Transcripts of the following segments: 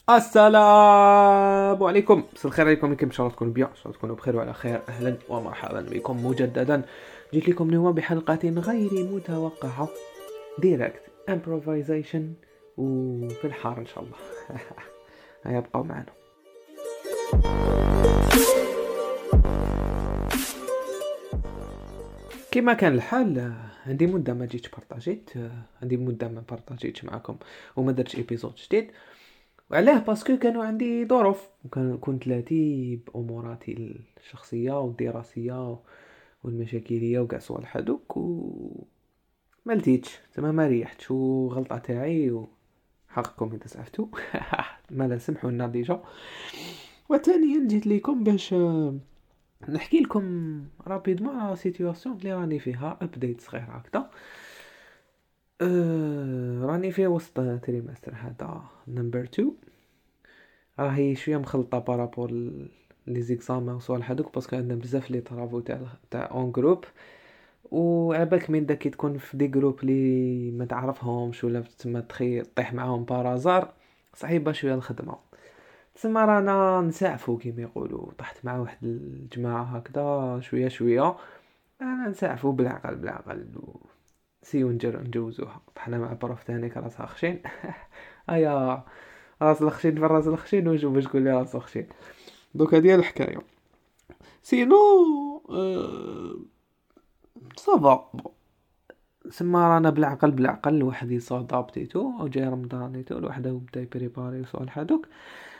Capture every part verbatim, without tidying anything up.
السلام عليكم، مساء الخير عليكم. كيف ان شاء الله تكونوا بيان، ان شاء الله تكونوا بخير وعلى خير. اهلا ومرحبا بكم مجددا. جيت لكم اليوم بحلقه غير متوقعه، ديريكت امبروفيزيشن وفي الحار ان شاء الله. هيا بقوا معنا. كما كان الحال، عندي مده ما جيتش بارطاجيت عندي مده ما بارطاجيتش معكم وما درتش ايبيزود جديد. وعلاه باسكو كانوا عندي ظروف، وكان كنت لاتي باموراتي الشخصيه والدراسيه والمشاكليه وكاع صوالح هذوك، و ما لتيتش تما ما ريحتش، وغلطه تاعي وحقكم اذا سعفتوا. ما لا سمحوا لنا ديجا. وثانيا جيت لكم باش نحكي لكم رابيدمون على سيتوياسيون اللي راني فيها، ابديت صغير هكذا. أه راني في وسط تريمستر هذا نمبر اثنين، راهي شويه مخلطه بارابور لي زيكزامان وصوالح هذوك، باسكو عندنا بزاف لي طرافو تاع تاع اون جروب. وعباك من داك تكون في دي جروب لي ما تعرفهمش ولا تما تخي طيح معاهم بارازار، صعيبه شويه الخدمه. تسمى رانا نسعفو كيما يقولوا، طحت مع واحد الجماعه هكذا شويه شويه، انا نسعفو بالعقل بالعقل و... سيو نجر نجوزوها. طحنا مع بروف تاني راسها خشين. ايا راس الخشين في راس الخشين، وجو باش تقول لي راس الخشين. دوك هذه الحكايه. سينو أه... صافا سما رانا بالعقل بالعقل. الواحد يصادابتيتو او جاي رمضانيتو، الواحد بدا يبريباري وصالح هذوك.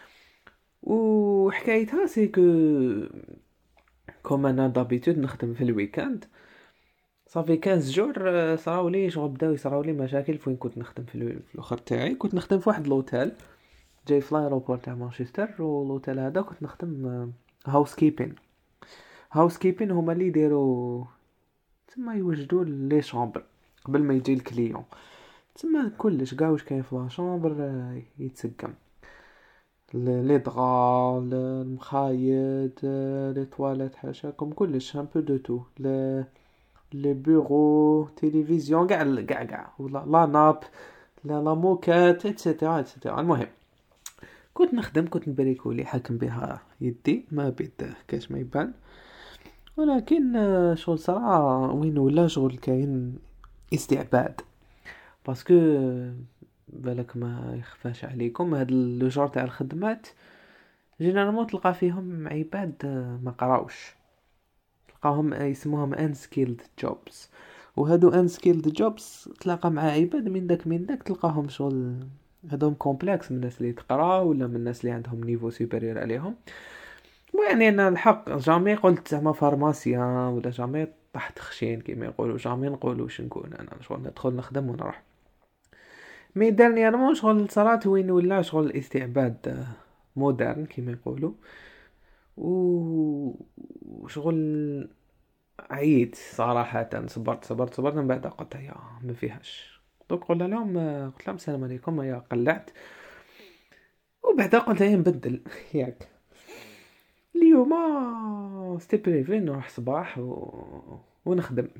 وحكايتها سي كو كوم انا دابيتود نخدم في الويكاند، صافي خمسطاش جور صراولي شغل بداو يصراولي مشاكل. فين كنت نخدم في الاخر تاعي، كنت نخدم في واحد لوتيل جاي في لايروبور تاع مانشستر، والوتيل هذا كنت نخدم هاوس كيبين. هاوس كيبين هما اللي يديروا تما يوجدوا لي شامبر قبل ما يجي الكليون. تما كلش كاع واش كاين في لا شامبر يتسقم، لي دغا، المخايد، لي تواليت، حاشاكم كلش ان بو دو تو، لي بيرو، تلفزيون، كاع كاع كاع ولا لا ناب، لا لا موكات، ايتترا ايتترا. المهم كنت نخدم، كنت نبريكولي، حاكم بها يدي ما بيد كاش ما يبان. ولكن شغل صراحه وين ولا شغل كاين استعباد، باسكو بالك ما يخفاش عليكم هاد لو جور تاع الخدمات جينيرالمون تلقى فيهم عباد ما قراوش، تلقاهم يسموهم انسكيلد جوبز. وهادو انسكيلد جوبز تلاقى مع عباد من داك من داك تلقاهم شغل هادوم كومبلكس من الناس اللي تقرا ولا من الناس اللي عندهم نيفو سوبيريور عليهم. ويعني انا الحق جامي قلت زعما فارماسيان ولا جامي طحت خشين كيما يقولوا، جامي نقولوا واش نكون انا شغل ندخل نخدم ونروح. مي دانييرمون شغل صرات وين ولا شغل استعباد مودرن كيما يقولوا، وشغل عييت صراحه. صبرت صبرت صبرت من بعد قلت يا ما فيهاش. دوك قلنا لهم قلت لهم السلام عليكم، يا قلعت. وبعد قلت هي نبدل. ياك اليوم ستي بريفي نروح صباح و... ونخدم.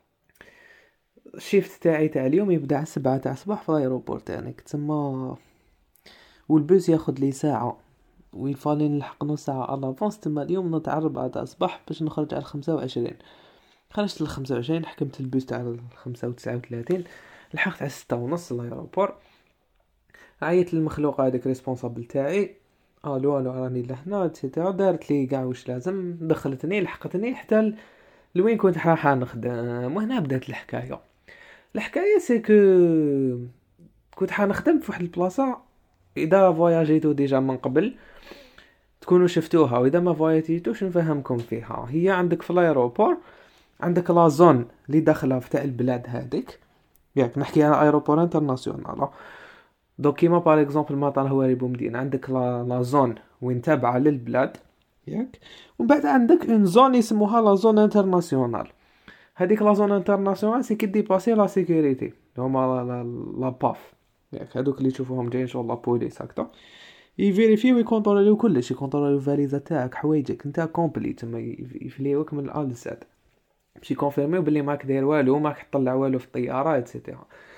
الشيفت تاعي تاع اليوم يبدا على سبعة تاع الصباح في الايروبور تاعنا تما، والبوس ياخد لي ساعه، ويفالي نلحق نص ساعه الافونس. تما اليوم نوض على أربعة تاع الصباح باش نخرج على خمسة وعشرين. خرجت ل خمسة وعشرين، حكمت البوس تاع خمسة وتسعة وثلاثين، لحقت على ستة ونص الايروبور. عيط للمخلوق هذاك ريسبونسابل تاعي، الو الو راني لهنا تيتا، دارت لي كاع واش لازم، دخلتني لحقتني حتى لوين كنت راح نخدم. وهنا بدات الحكايه. الحكايه سي كو كنت حنخدم في واحد البلاصه، اذا فواياجيتو ديجا من قبل تكونوا شفتوها، واذا ما فواياجيتوش نفهمكم فيها. هي عندك في الايروبور عندك لا زون اللي داخله في تاع البلاد هذيك، ياك نحكي على ايروبور انترناسيونال. دوك كيما بار اكزومبل مطار هواري بومدين، عندك لا لا زون وين تابعه للبلاد، ياك. ومن بعد عندك اون زون يسموها لا زون انترناسيونال. هذيك لا زون انترناسيونال سي كي ديباسي لا سيكوريتي، هما لا لا باف، ياك هذوك اللي تشوفوهم جايين شغل لا بوليس هكذا، يفيريفيو ويكونتروليو كلشي، يكونتروليو الفاليزا تاعك، حوايجك نتا كومبليت، تما يفليوك من الأ للزاد باش يكونفيرميو بلي ماك داير والو، ماك تطلع والو في الطياره ايتترا.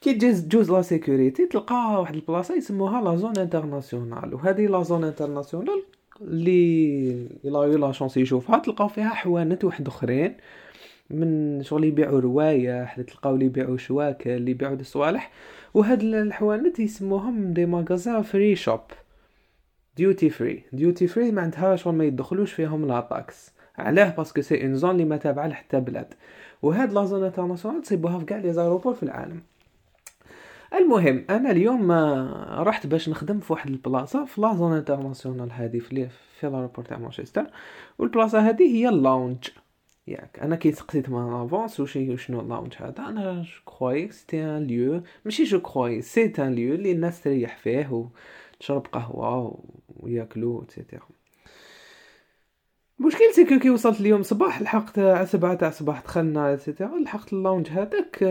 كي تجوز تجوز لا سيكوريتي تلقى واحد البلاصه يسموها لا زون انترناسيونال، وهذه لا زون انترناسيونال اللي الا يلا شونس يشوفها تلقاو فيها حوانت واحد اخرين من شغل يبيعوا روايح، تلقاو اللي يبيعوا شواكه، اللي يبيعوا د الصوالح. وهاد الحوانت يسموهم دي ماغازان فري شوب، ديوتي فري. ديوتي فري معناتها شغل ما يدخلوش فيهم لا طاكس. علاه؟ باسكو سي اون زون اللي ما تابعه لحتى بلاد. وهاد لا زون انترناسيونال تصيبوها في كاع لي زايروبور في العالم. المهم انا اليوم ما رحت باش نخدم في واحد البلاصه في لا زون انترناسيونال هذه في في لاربور تاع مانشستر. والبلاصه هذه هي اللونج. ياك انا كي سقسيت ما افونس وشي شنو اللونج هذا، انا جو كروي سيتي ان ليو، ماشي جو كروي سي ان ليو اللي الناس تريح فيه وتشرب قهوه وياكلوا ايتترا. المشكل سيكو كي وصلت اليوم صباح لحقت على سبعة تاع الصباح دخلنا ايتترا لحقت اللونج هذاك،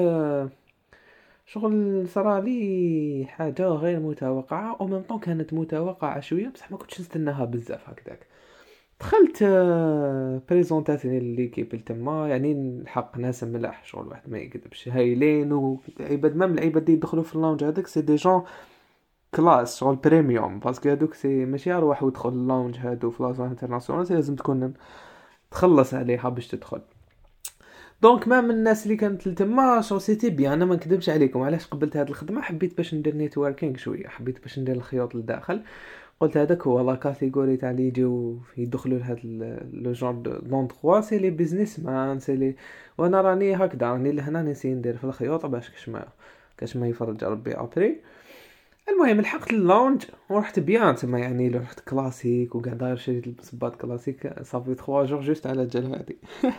شغل صرا لي حاجه غير متوقعه او ميم طون كانت متوقعه شويه بصح ما كنتش نستناها بزاف هكذاك. دخلت بريزونطاسيون ليكيب تما، يعني الحق ناس ملاح شغل واحد ما يكذبش هايلين، وعباد مام العباد اللي يدخلوا في اللونج هذاك سي دي جون كلاس شغل بريميوم، باسكو هذوك سي ماشي اروح ودخل اللونج هادو في لازون انترناسيونال لازم تكون تخلص عليها باش تدخل. دونك ما من الناس اللي كانت تما شو سيتي بيان. انا ما نكذبش عليكم، علاش قبلت هذه الخدمه؟ حبيت باش ندير نيتوركينغ شويه، حبيت باش ندير الخيوط للداخل. قلت هذاك هو لا كاتيجوري تاع اللي يجيو يدخلوا لهاد لو جور دوندغوا سي لي بيزنس مان سي لي. وانا راني هكذا راني لهنا نسي ندير في الخيوط باش كاش ما كاش ما يفرج ربي ابري. المهم لحقت اللونج ورحت بيان تما، يعني رحت كلاسيك وكاع داير شريت البصبات كلاسيك صافي ثلاثة جور جوست على جال هادي.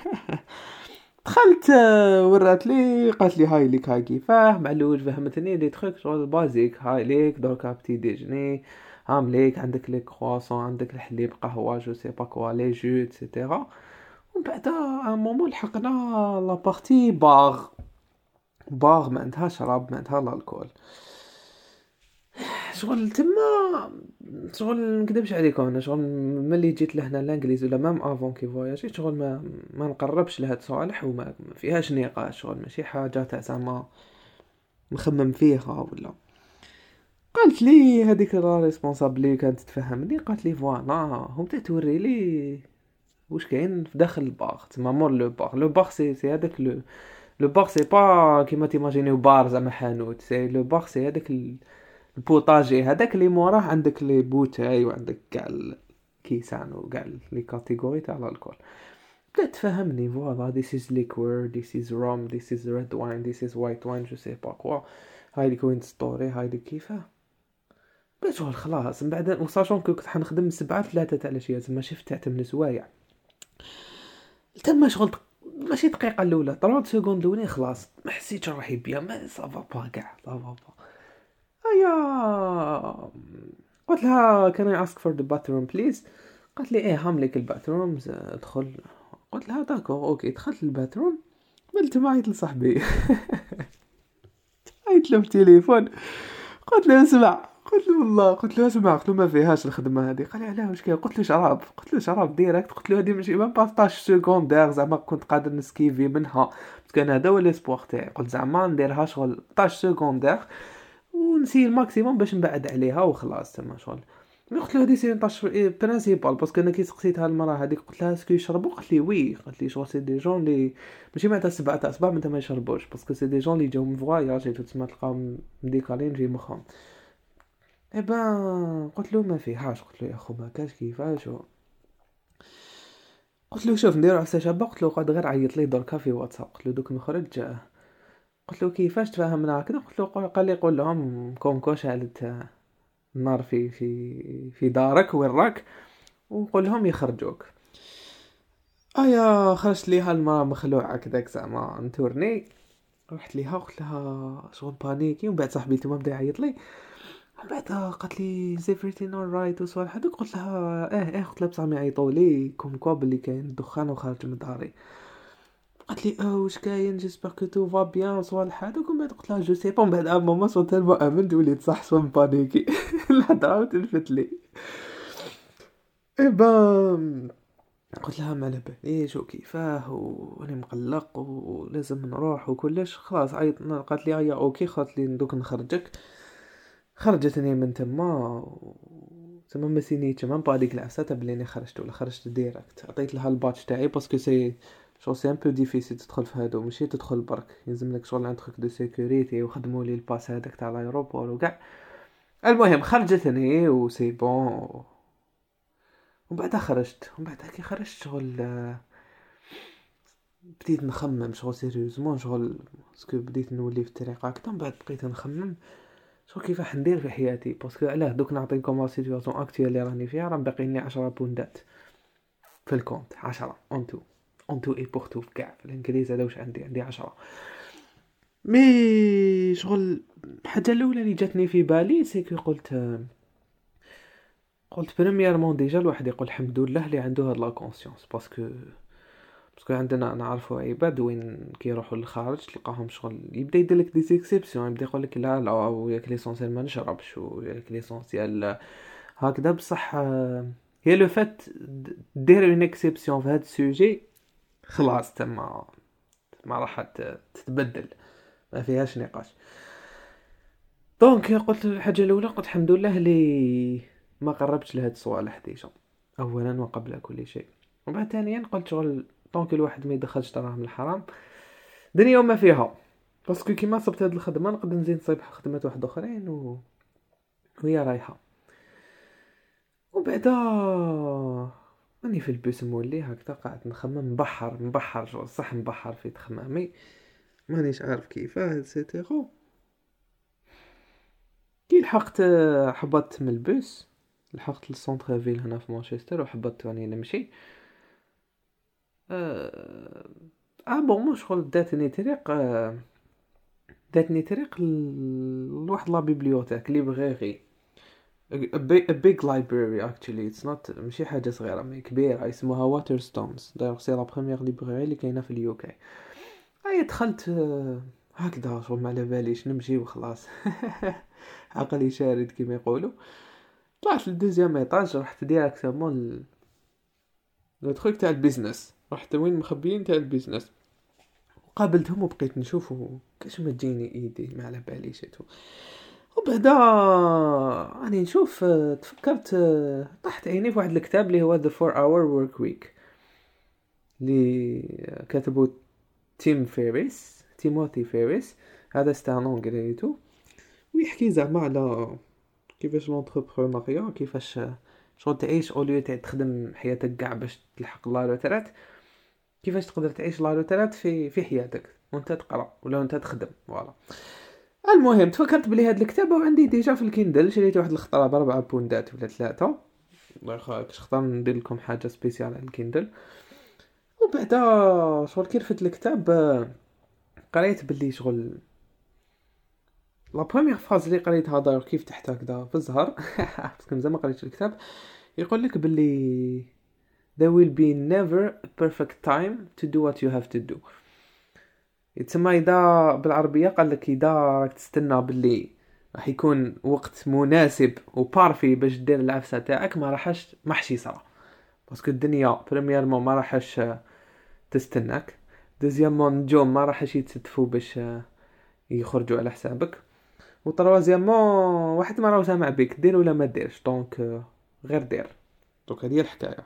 دخلت ورات لي قالت لي هاي ليك هاي كيفاه معلوج، فهمتني لي تخيك شغل بازيك. هاي ليك دركا بتي ديجني، هام ليك عندك لي كرواسون، عندك الحليب، قهوه، جو سي با كوا، لي جو ايتترا. ومن بعد ان مومون لحقنا لا بارتي باغ. باغ ما عندها شراب، ما عندها الكول. شغل تما شغل نكذبش عليكم، انا شغل ملي جيت لهنا الانجليز ولا مام افون كي فواياجي شغل ما ما نقربش لهاد صالح وما ما فيهاش نقاش، شغل ماشي حاجه تاع زعما نخمم فيها ولا. قالت لي هذيك لا ريسبونسابل كانت تفهمني، قالت لي فوالا هم توري لي واش كاين في داخل الباغ تما مور لو باغ. لو باغ سي سي هذاك لو لو باغ سي با كيما تيماجينيو بار زعما حانوت، سي لو باغ سي هذاك البوطاجي هذاك اللي موراه عندك لي بوتاي وعندك كاع الكيسان وكاع لي كاتيجوري تاع الكول. بدات تفهمني فوالا this is liquor, this is rum, this is red wine, this is white wine, جو سي با كوا. هاي دي كوين ستوري، هاي دي كيفاه بس شغل خلاص. من بعد وصاشون كنت حنخدم سبعة ثلاثة تاع الاشياء تما شفت تاع من سوايع تما شغل ماشي دقيقه الاولى ثلاثين سكوند الاولين خلاص ما حسيتش روحي بيان، ما صافا با كاع صافا با. ايا قلت لها كان اي اسك فور ذا باثروم بليز؟ قالت لي ايه هامليك الباثروم ادخل. قلت لها داكور اوكي. دخلت الباثروم قلت معيط لصاحبي عيط له بالتليفون قلت له اسمع، قلت له والله قلت له اسمع، قلت له ما فيهاش الخدمه هذه. قال لي علاه واش كاين؟ قلت له شراب، قلت له شراب ديريكت. قلت له هذه ماشي ما باطاش سكوندير زعما كنت قادر نسكيفي منها بس كان هذا هو ليسبوار تاعي. قلت زعما نديرها شغل طاش سكوندير ونسي الماكسيموم باش نبعد عليها وخلاص تما شغل. مي قلت له هذه سي طاش برينسيبال باسكو انا كي سقسيتها المراه هذيك قلت لها اسكو يشربوا؟ قالت لي وي. قالت لي شغل سي دي جون لي ماشي معناتها سبعة تاع صباح معناتها ما يشربوش باسكو سي دي جون لي جاو من فواياج تسمى تلقاهم مديكالين في مخهم. اي بان قلت له ما فيهاش. قلت له يا اخو ما كاش كيفاش و... قلت له شوف نديرو عسى شابه. قلت له قاد غير عيط لي دركا في واتساب. قلت له دوك نخرج. قلت له كيفاش تفاهمنا هكذا؟ قلت له قال لي قول لهم كونكو شعلت النار في في في دارك وين راك وقول لهم يخرجوك. ايا خرجت ليها المراه مخلوعه كذاك زعما نتورني. رحت ليها قلت لها شغل بانيكي. ومن بعد صاحبي تما بدا يعيط لي. من بعد قالت لي is everything alright وصوالح هذوك. قلت لها ايه ايه. قلت لها بصح ما يعيطوا لي كوم كوا بلي كاين دخان وخارج من داري. قالت لي اه واش كاين جيسبر كو تو فا بيان وصوالح هذوك. ومن بعد قلت لها جو سي با. من بعد ماما صوت تالمو امنت وليت صح سوا بانيكي الهضره تلفت لي. اي با قلت لها ما على باليش وكيفاه وراني مقلق ولازم نروح وكلش. خلاص عيط، قالت لي هيا اوكي، قالت لي دوك نخرجك. خرجتني من تما و... تما ما سينيتش مام با هذيك العفسه تاع بلي خرجت ولا خرجت ديريكت. عطيت لها الباتش تاعي باسكو سي شو سي ان بو ديفيسيل تدخل في هادو، ماشي تدخل برك، يلزم لك شغل عند تروك دو سيكوريتي وخدموا لي الباس هذاك تاع الايروبور وكاع. المهم خرجتني وسي بون، ومن بعد خرجت. ومن بعد كي خرجت شغل بديت نخمم شغل سيريوزمون، شغل باسكو بديت نولي في الطريق هكذا. من بعد بقيت نخمم شغل كيفاش ندير في حياتي، باسكو علاه دوك نعطيكم لا سيتوياسيون اكطويل اللي راني فيها. راه باقي لي عشرة بوندات في الكونت، عشرة اونتو اونتو اي بورتو كاع في الانجليز. هذا واش عندي عندي عشرة. مي شغل الحاجه الاولى اللي جاتني في بالي سي قلت قلت بريميرمون ديجا الواحد يقول الحمد لله اللي عنده هاد لا كونسيونس، باسكو باسكو عندنا نعرفوا عباد وين كيروحوا للخارج تلقاهم شغل يبدا يدير لك دي اكسيبسيون، يبدا يقول لك لا لا وياك ليسونسيال ما نشربش وياك ليسونسيال هكذا. بصح هي لو فات دير اون اكسيبسيون في هذا السوجي خلاص تما ما راح تتبدل، ما فيهاش نقاش. دونك قلت الحاجه الاولى قلت الحمد لله اللي ما قربتش لهاد الصوالح ديجا اولا وقبل كل شيء. وبعد ثانيا قلت شغل دونك الواحد ما يدخلش دراهم الحرام دنيا وما فيها، باسكو كيما صبت هاد الخدمه نقدر نزيد نصيب خدمات واحد اخرين و... وهي رايحه. وبعدا راني في البوس مولي هكذا قاعد نخمم، مبحر مبحر شغل صح مبحر في تخمامي، مانيش عارف كيفاه سيتيرو. كي لحقت حبطت من البوس، لحقت للسونتر فيل هنا في مانشستر وحبطت راني نمشي. اه, آه بون مو شغل داتني طريق آه داتني طريق ل- لواحد لا بيبليوتيك ليبراري، a big, a big library actually it's not ماشي حاجة صغيرة مي كبيرة، اسمها واترستونز. دايوغ سي لا بروميير ليبراري اللي كاينة في اليوكي. اي دخلت آه، هكذا شغل ما على باليش نمشي وخلاص عقلي شارد كيما يقولوا. طلعت للدوزيام ايطاج، رحت ديراكتومون لو تخيك تاع البيزنس، رحت وين مخبيين تاع البيزنس قابلتهم وبقيت نشوف كاش ما تجيني ايدي ما على باليش تو. وبعدا راني نشوف آه، تفكرت آه، طحت عيني في واحد الكتاب اللي هو The four hour work week اللي كتبه تيم فيريس تيموثي فيريس. هذا ستانون قريتو ويحكي زعما على كيفاش لونتربرونيا، كيفاش شغل تعيش اوليو تاع تخدم حياتك كاع باش تلحق لا روترات، كيفاش تقدر تعيش لا روترات في في حياتك وانت تقرا ولا وانت تخدم. فوالا المهم تفكرت بلي هاد الكتاب وعندي ديجا في الكيندل، شريت واحد الخطره بربعة بوندات ولا ثلاثة. الله يخليك اختار ندير لكم حاجه سبيسيال على الكيندل. وبعدا شغل كي رفدت الكتاب آه، قريت باللي شغل لا بروميير فاز اللي قريتها داير كيف تحت هكذا في الزهر باسكو مزال ما قريتش الكتاب. يقول لك باللي there will be never a perfect time to do what you have to do. يتسمى اذا بالعربيه قال لك اذا راك تستنى باللي راح يكون وقت مناسب وبارفي باش دير العفسه تاعك ما راحش محشي صرا، باسكو الدنيا بريميرمون ما راحش تستناك، دوزيامون نجوم ما راحش يتستفوا باش يخرجوا على حسابك، وطروازيامون واحد ما راهو سامع بك دير ولا ما ديرش. دونك غير دير. دونك هذه هي الحكايه.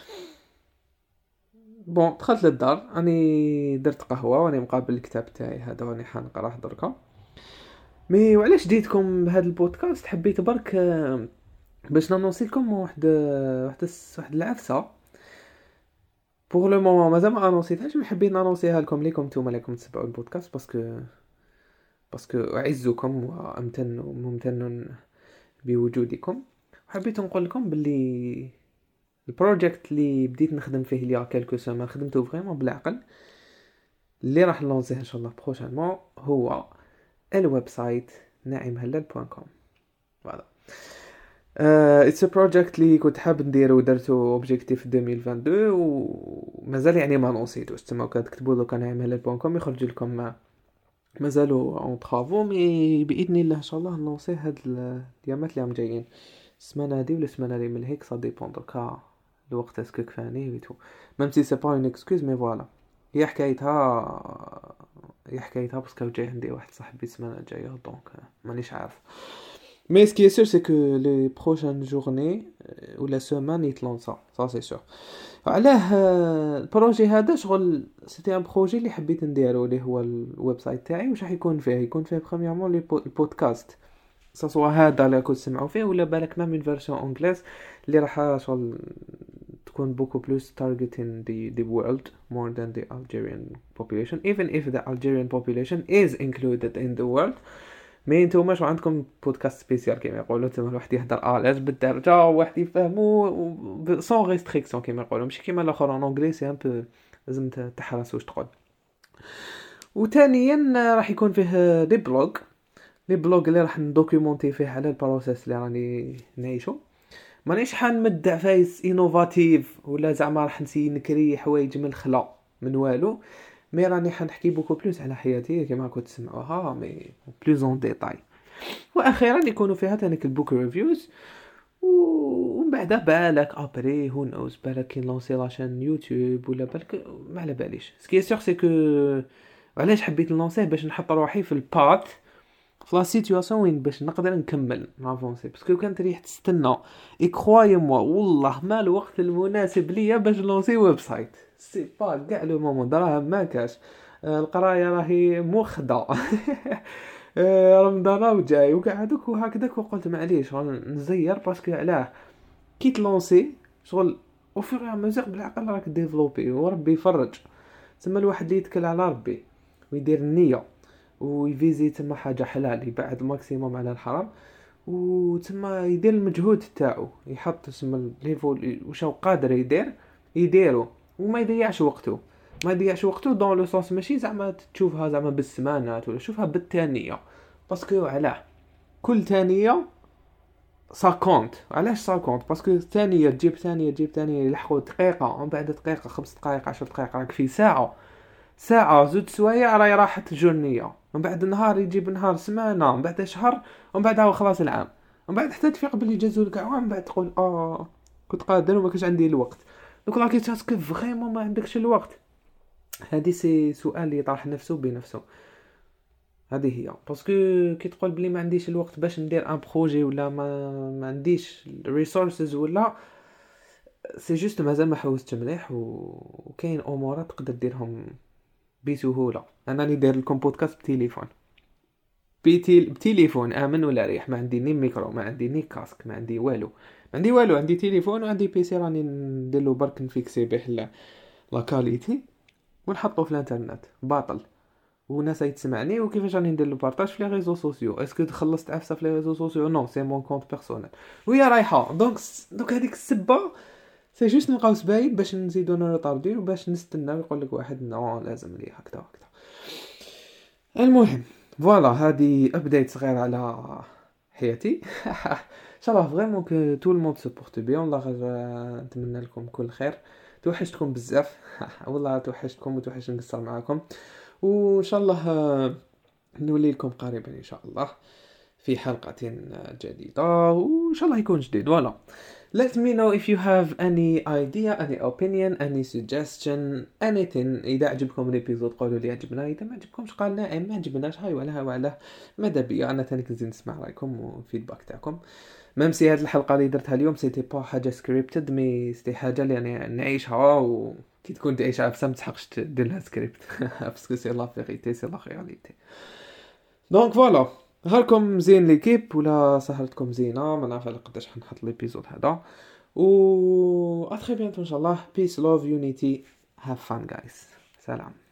بون دخلت للدار راني درت قهوه وراني مقابل الكتاب تاعي هذا راني حنقراه دركا. مي وعلاش جيتكم بهذا البودكاست؟ حبيت برك آه، باش نانونسي لكم واحد آه، واحد الس- واحد العفسه. بوغ لو مومون مازال ما انونسيتهاش، مي حبيت نانونسيها لكم ليكم نتوما اللي تسمعوا البودكاست، باسكو باسكو اعزكم وامتن وممتن بوجودكم. حبيت نقول لكم باللي البروجيكت اللي بديت نخدم فيه ليا كالكو سيمين خدمته فريمون بالعقل، اللي راح نلونسيه ان شاء الله بروشانمون هو الويب سايت ناعم هلال دوت كوم. فوالا اتس ا بروجيكت اللي كنت حاب نديرو ودرتو اوبجيكتيف ألفين واثنين وعشرين ومازال يعني ما نونسيتوش. تما كتكتبوا لو كان ناعم هلال دوت كوم يخرج لكم ما مازالوا اون طرافو، مي باذن الله ان شاء الله نونسيه هاد الايامات اللي راهم جايين، السمانه هادي ولا السمانه اللي من هيك صا ديبون. دركا الوقت اسكو كفاني ويتو ميم سي سي با اون اكسكوز مي فوالا. هي حكايتها هي حكايتها باسكو جاي عندي واحد صاحبي السمانه الجايه دونك مانيش عارف. مي سكي سور سي كو لي بروشين جورني ولا سيمان يتلونسا سا سي سور. علاه البروجي هذا شغل سيتي ان بروجي اللي حبيت نديرو اللي هو الويب سايت تاعي. واش راح يكون فيه؟ يكون فيه بريميرمون لي البودكاست سواء هذا اللي كنت سمعوا فيه ولا بالك ما من فيرسيون انجليز اللي راح شغل تكون بوكو بلوس targeting the the world more than the Algerian population even if the Algerian population is included in the world. مي نتوما شو عندكم بودكاست سبيسيال كيما يقولوا تما الواحد يهضر الاج بالدرجه وواحد يفهمو سون ريستريكسيون كيما يقولوا ماشي كيما الاخر ان انجلي سي ان بو لازم تحرس واش تقول. وثانيا راح يكون فيه دي بلوغ لي بلوغ اللي راح ندوكيومونتي فيه على البروسيس اللي راني نعيشو. مانيش حنمدع فايس انوفاتيف ولا زعما راح نسي نكري حوايج من الخلا من والو. مي راني حنحكي بوكو بلوس على حياتي كما كنت تسمعوها مي بلوز اون ديتاي. واخيرا يكونوا فيها تانيك البوك ريفيوز. ومن بعد بالك ابري هو نوز بالك كي لونسي لاشين يوتيوب ولا بالك ما على باليش. سكي سيغ سي كو علاش حبيت نلونسيه باش نحط روحي في البات في لا سيتوياسيون وين باش نقدر نكمل نافونسي باسكو كانت ريح تستنى اي كروي موا والله ما الوقت المناسب ليا باش نلونسي ويب سايت سي با كاع لو مومون دراهم ما كاش. القرايه راهي موخده رمضان وجاي وكاع هذوك وهكذاك وقلت معليش نزير باسكو علاه كي تلونسي شغل وفي مزيق بالعقل راك ديفلوبي وربي يفرج. تما الواحد اللي يتكل على ربي ويدير النيه ويفيزي تما حاجه حلال يبعد الماكسيموم على الحرام وتما يدير المجهود تاعو يحط تما ليفول واش قادر يدير يديرو وما يضيعش وقته ما يضيعش وقته دون لو سونس ماشي زعما تشوفها زعما بالسمانات ولا شوفها بالثانيه باسكو علاه كل ثانيه سا كونت. علاش سا كونت؟ باسكو ثانيه تجيب ثانيه تجيب ثانيه يلحقوا دقيقه ومن بعد دقيقه خمس دقائق عشر دقائق راك في ساعه ساعه زوج سوايع راهي راحت جورنيه. من بعد نهار يجيب نهار سمانه من بعد شهر ومن بعد هو خلاص العام ومن بعد حتى تفيق بلي جازوا لك عام من بعد تقول اه كنت قادر وما كانش عندي الوقت. دوك راكي تاسك فريمون ما عندكش الوقت. هذه سي سؤال اللي يطرح نفسه بنفسه. هذه هي باسكو كي تقول بلي ما عنديش الوقت باش ندير ان بروجي ولا ما ما عنديش الريسورسز ولا سي جوست مازال ما حوستش مليح وكاين امور تقدر ديرهم بسهوله. انا اللي داير لكم بودكاست بتليفون بيتي بتليفون امن ولا ريح ما عندي ني ميكرو ما عندي ني كاسك ما عندي والو ما عندي والو عندي تليفون وعندي بيسي راني ندير له برك نفيكسي به لا لا كاليتي ونحطه في الانترنت باطل وناس يتسمعني. وكيفاش راني ندير له بارطاج في لي ريزو سوسيو اسكو خلصت عفسه في لي ريزو سوسيو نو سي مون كونت بيرسونيل وهي رايحه دونك دونك هذيك السبه سي جوست نلقاو سبايب باش نزيدو نرطارديو باش نستنى يقول لك واحد نو لازم لي هكذا هكذا. المهم فوالا هذه ابديت صغير على حياتي ان شاء الله فريمون كو تو الموند سو بورت بيان. الله غير نتمنى لكم كل خير. توحشتكم بزاف والله توحشتكم وتوحش نقصر معاكم وان شاء الله نولي لكم قريبا ان شاء الله في حلقة جديدة وان شاء الله يكون جديد. فوالا let me know if you have any idea any opinion any suggestion anything. اذا عجبكم الابيزود قولوا لي عجبنا اذا ما عجبكمش قال لا ما عجبناش هاي ولا ولا ماذا بيا انا ثاني كنزيد نسمع رايكم وفيدباك تاعكم. ميم سي هذه الحلقه اللي درتها اليوم سيتي با حاجه سكريبتد مي سيتي حاجه اللي يعني نعيشها وكي تكون تعيشها بس ما تحقش دير لها سكريبت باسكو سي لا فيريتي سي لا رياليتي. دونك فوالا نهاركم زين ليكيب ولا سهرتكم زينه ما نعرف على قداش حنحط ليبيزود هذا و ا تري بيانتو ان شاء الله. بيس لوف يونيتي هاف فان جايز. سلام.